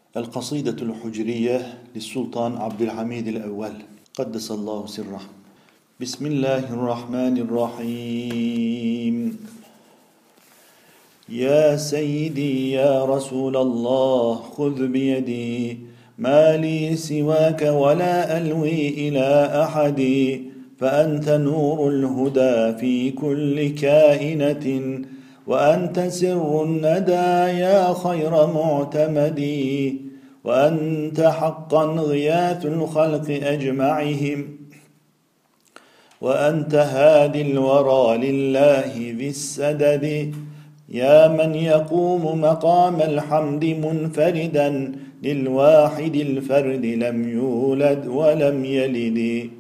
القصيدة الحجرية للسلطان عبد الحميد الأول قدس الله سره. بسم الله الرحمن الرحيم. يا سيدي يا رسول الله خذ بيدي، ما لي سواك ولا ألوي إلى أحد، فأنت نور الهدى في كل كائنة، وأنت سر الندى يا خير معتمد، وأنت حقا غياث الخلق أجمعهم، وأنت هادي الورى لله ذي السدد، يا من يقوم مقام الحمد منفردا للواحد الفرد لم يولد ولم يلد،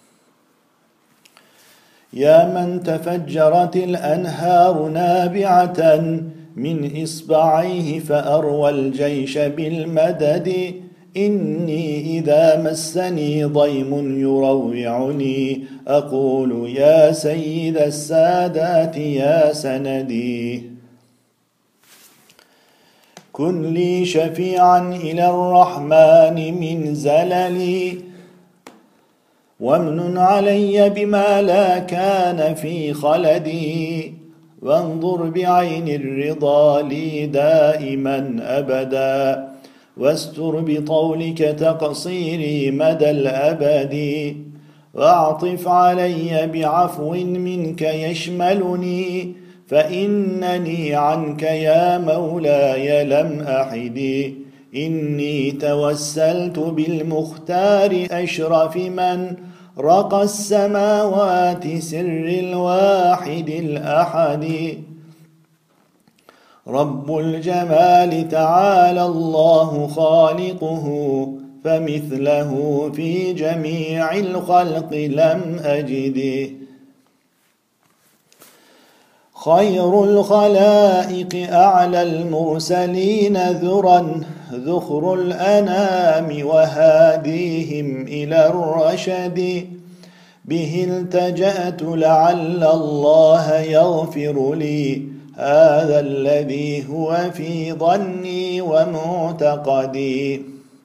يا من تفجرت الأنهار نابعة من إصبعيه فأروى الجيش بالمدد، إني إذا مسني ضيم يروعني أقول يا سيد السادات يا سندي، كن لي شفيعا إلى الرحمن من زللي، وامنن علي بما لا كان في خلدي، وانظر بعين الرضا لي دائما أبدا، واستر بطولك تقصيري مدى الأبد، واعطف علي بعفو منك يشملني، فإنني عنك يا مولاي لم أحد، إني توسلت بالمختار أشرف من رقى السماوات سر الواحد الأحد، رب الجمال تعالى الله خالقه، فمثله في جميع الخلق لم أجد، خير الخلائق أعلى المرسلين ذرا، ذخر الأنام وهاديهم إلى الرشد، به التجأت لعل الله يغفر لي هذا الذي هو في ظني ومعتقدي،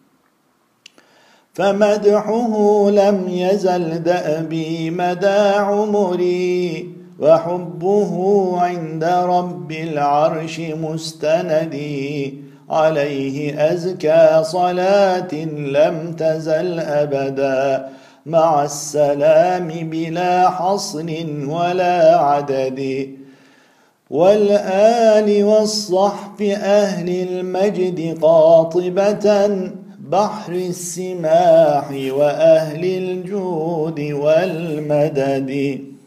فمدحه لم يزل دأبي مدى عمري، وحبه عند رب العرش مستندي، عليه أزكى صلاة لم تزل أبدا مع السلام بلا حصر ولا عدد، والآل والصحب أهل المجد قاطبة بحر السماح وأهل الجود والمدد.